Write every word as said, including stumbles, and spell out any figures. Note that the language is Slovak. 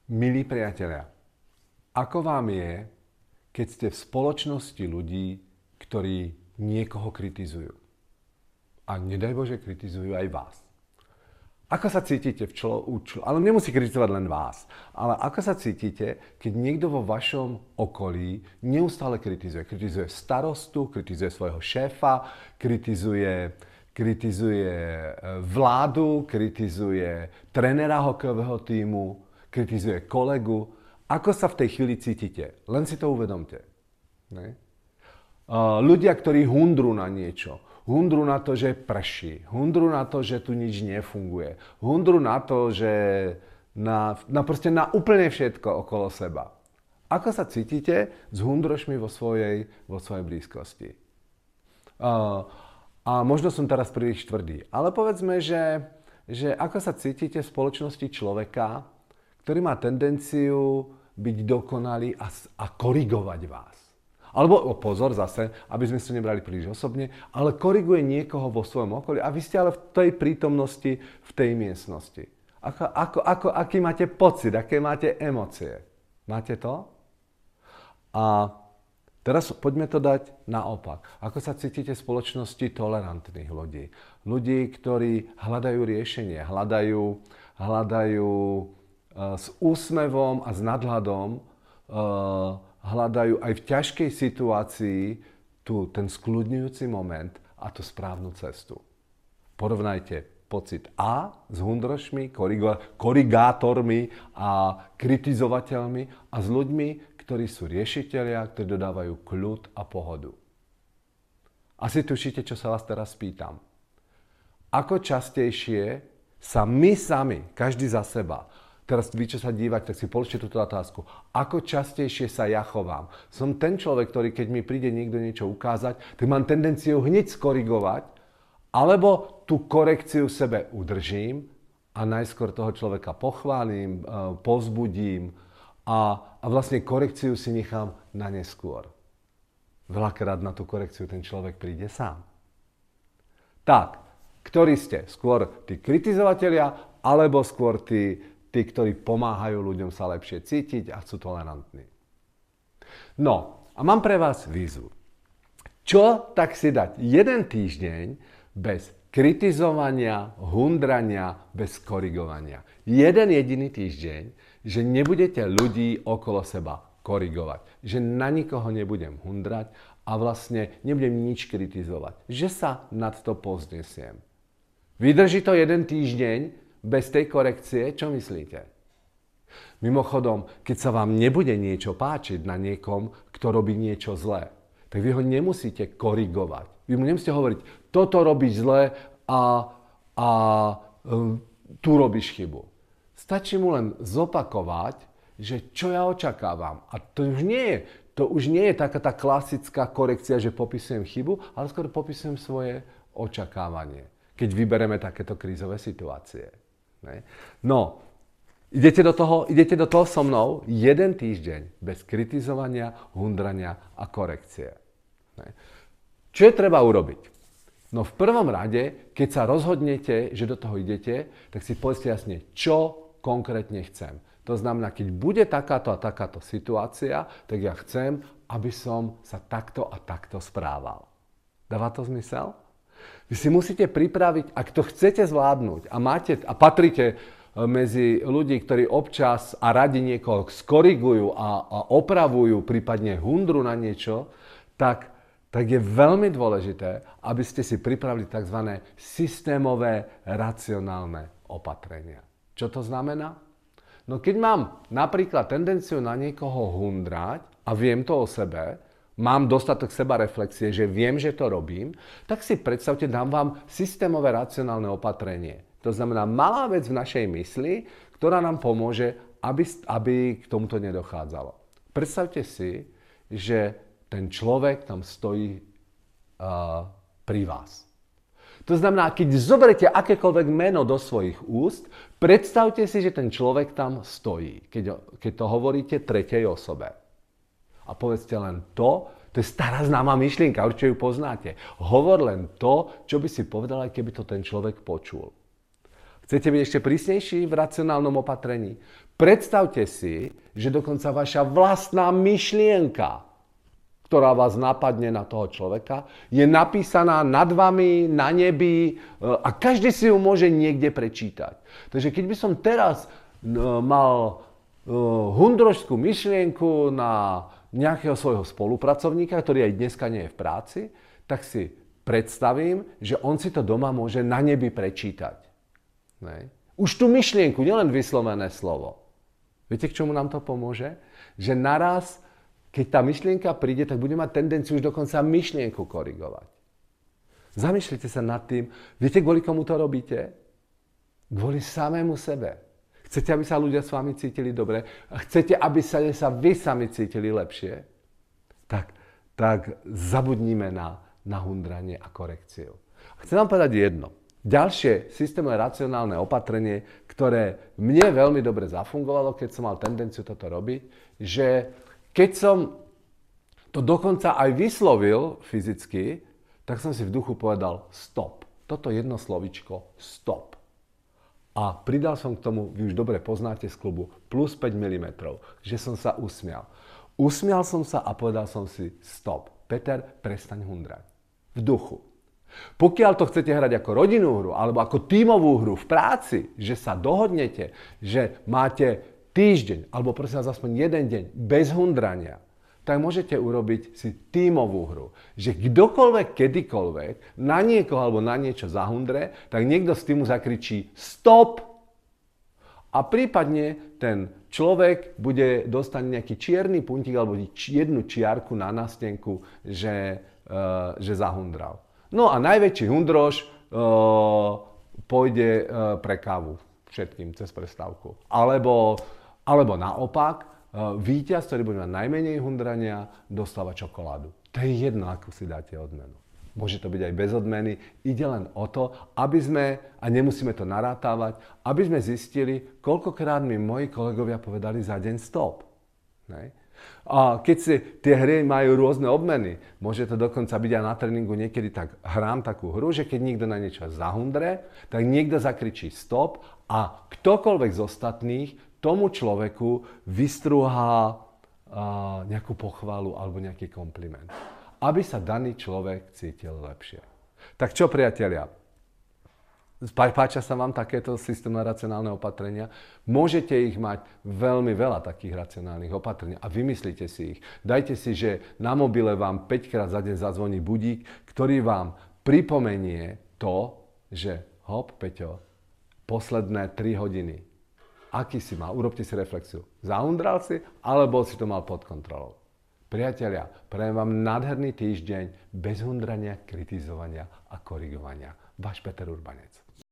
Milí priatelia, ako vám je, keď ste v spoločnosti ľudí, ktorí niekoho kritizujú? A nedaj Bože, kritizujú aj vás. Ako sa cítite v člo, u člo, ale nemusí kritizovať len vás, ale ako sa cítite, keď niekto vo vašom okolí neustále kritizuje? Kritizuje starostu, kritizuje svojho šéfa, kritizuje, kritizuje vládu, kritizuje trénera hokejového tímu, kritizuje kolegu. Ako sa v tej chvíli cítite? Len si to uvedomte. Ne? Uh, ľudia, ktorí hundru na niečo, hundru na to, že prší, hundru na to, že tu nič nefunguje, hundru na to, že na, na, proste na úplne všetko okolo seba. Ako sa cítite s hundrošmi vo svojej, vo svojej blízkosti? Uh, a možno som teraz príliš tvrdý, ale povedzme, že, že ako sa cítite v spoločnosti človeka, ktorý má tendenciu byť dokonalý a, a korigovať vás. Alebo, o pozor zase, aby sme si to nebrali príliš osobne, ale koriguje niekoho vo svojom okolí a vy ste ale v tej prítomnosti, v tej miestnosti. Ako, ako, ako, aký máte pocit, aké máte emócie? Máte to? A teraz poďme to dať naopak. Ako sa cítite v spoločnosti tolerantných ľudí? Ľudí, ktorí hľadajú riešenie, hľadajú, hľadajú s úsmevom a s nadhľadom hľadajú aj v ťažkej situácii tu ten skľudňujúci moment a tú správnu cestu. Porovnajte pocit A s hundrošmi, korigátormi a kritizovateľmi a s ľuďmi, ktorí sú riešitelia, ktorí dodávajú kľud a pohodu. Asi tušíte, čo sa vás teraz pýtam. Ako častejšie sa my sami, každý za seba, teraz vy, čo sa dívate, tak si položte túto otázku. Ako častejšie sa ja chovám? Som ten človek, ktorý keď mi príde niekto niečo ukázať, tak mám tendenciu hneď skorigovať, alebo tú korekciu sebe udržím a najskôr toho človeka pochválim, povzbudím a, a vlastne korekciu si nechám na neskôr. Veľakrát na tú korekciu ten človek príde sám. Tak, ktorí ste? Skôr tí kritizovatelia, alebo skôr tí tí, ktorí pomáhajú ľuďom sa lepšie cítiť a sú tolerantní. No, a mám pre vás výzvu. Čo tak si dať jeden týždeň bez kritizovania, hundrania, bez korigovania? Jeden jediný týždeň, že nebudete ľudí okolo seba korigovať. Že na nikoho nebudem hundrať a vlastne nebudem nič kritizovať. Že sa nad to povznesiem. Vydrží to jeden týždeň bez tej korekcie, čo myslíte? Mimochodom, keď sa vám nebude niečo páčiť na niekom, kto robí niečo zlé, tak vy ho nemusíte korigovať. Vy mu nemusíte hovoriť, toto robíš zlé a, a um, tu robíš chybu. Stačí mu len zopakovať, že čo ja očakávam. A to už nie je, to už nie je taká tá klasická korekcia, že popisujem chybu, ale skôr popisujem svoje očakávanie, keď vybereme takéto krízové situácie. Ne? No, idete do toho, idete do toho so mnou jeden týždeň bez kritizovania, hundrania a korekcie. Ne? Čo je treba urobiť? No v prvom rade, keď sa rozhodnete, že do toho idete, tak si povedzte jasne, čo konkrétne chcem. To znamená, keď bude takáto a takáto situácia, tak ja chcem, aby som sa takto a takto správal. Dáva to zmysel? Vy si musíte pripraviť, ak to chcete zvládnuť a, máte, a patrite medzi ľudí, ktorí občas a radi niekoho skorigujú a, a opravujú, prípadne hundru na niečo, tak, tak je veľmi dôležité, aby ste si pripravili tzv. Systémové racionálne opatrenia. Čo to znamená? No keď mám napríklad tendenciu na niekoho hundrať a viem to o sebe, mám dostatok sebareflexie, že viem, že to robím, tak si predstavte, dám vám systémové racionálne opatrenie. To znamená malá vec v našej mysli, ktorá nám pomôže, aby, aby k tomuto nedochádzalo. Predstavte si, že ten človek tam stojí uh, pri vás. To znamená, keď zoberete akékoľvek meno do svojich úst, predstavte si, že ten človek tam stojí, keď, keď to hovoríte tretej osobe. A povedzte len to, to je stará známa myšlienka, určite ju poznáte. Hovor len to, čo by si povedal, aj keby to ten človek počul. Chcete byť ešte prísnejší v racionálnom opatrení? Predstavte si, že dokonca vaša vlastná myšlienka, ktorá vás napadne na toho človeka, je napísaná nad vami, na nebi a každý si ju môže niekde prečítať. Takže keď by som teraz mal hundrožskú myšlienku na nejakého svojho spolupracovníka, ktorý aj dneska nie je v práci, tak si predstavím, že on si to doma môže na nebi prečítať. Ne? Už tú myšlienku, nielen vyslovené slovo. Viete, k čomu nám to pomôže? Že naraz, keď tá myšlienka príde, tak bude mať tendenciu už dokonca myšlienku korigovať. Zamýšľajte sa nad tým, viete, kvôli komu to robíte? Kvôli samému sebe. Chcete, aby sa ľudia s vami cítili dobre? A chcete, aby sa, sa vy sami cítili lepšie? Tak, tak zabudnime na, na hundranie a korekciu. Chcem vám povedať jedno. Ďalšie systémové racionálne opatrenie, ktoré mne veľmi dobre zafungovalo, keď som mal tendenciu toto robiť, že keď som to dokonca aj vyslovil fyzicky, tak som si v duchu povedal stop. Toto jedno slovičko stop. A pridal som k tomu, vy už dobre poznáte z klubu, plus päť milimetrov, že som sa usmial. Usmial som sa a povedal som si stop. Peter, prestaň hundrať. V duchu. Pokiaľ to chcete hrať ako rodinnú hru alebo ako tímovú hru v práci, že sa dohodnete, že máte týždeň alebo prosím vás aspoň jeden deň bez hundrania, tak môžete urobiť si tímovú hru. Že kdokoľvek, kedykoľvek na niekoho alebo na niečo zahundre, tak niekto z týmu zakričí stop a prípadne ten človek bude dostať nejaký čierny puntík alebo jednu čiarku na nástenku, že, uh, že zahundral. No a najväčší hundrož uh, pôjde uh, pre kávu všetkým cez prestávku. Alebo, alebo naopak, uh, víťaz, ktorý bude mať najmenej hundrania, dostáva čokoládu. To je jedno, ako si dáte odmenu. Môže to byť aj bez odmeny. Ide len o to, aby sme, a nemusíme to narátávať, aby sme zistili, koľkokrát mi moji kolegovia povedali za deň stop. Ne? A keď si tie hry majú rôzne obmeny, môže to dokonca byť aj na tréningu, niekedy tak hrám takú hru, že keď niekto na niečo zahundre, tak niekto zakričí stop a ktokoľvek z ostatných tomu človeku vystrúhá nejakú pochvalu alebo nejaký kompliment. Aby sa daný človek cítil lepšie. Tak čo, priatelia? Páčia sa vám takéto systémové racionálne opatrenia? Môžete ich mať veľmi veľa takých racionálnych opatrení a vymyslite si ich. Dajte si, že na mobile vám päť krát za deň zazvoní budík, ktorý vám pripomenie to, že hop, Peťo, posledné tri hodiny. Aký si mal? Urobte si reflexiu. Zahundral si, alebo si to mal pod kontrolou? Priatelia, prajem vám nádherný týždeň bez hundrania, kritizovania a korigovania. Váš Peter Urbanec.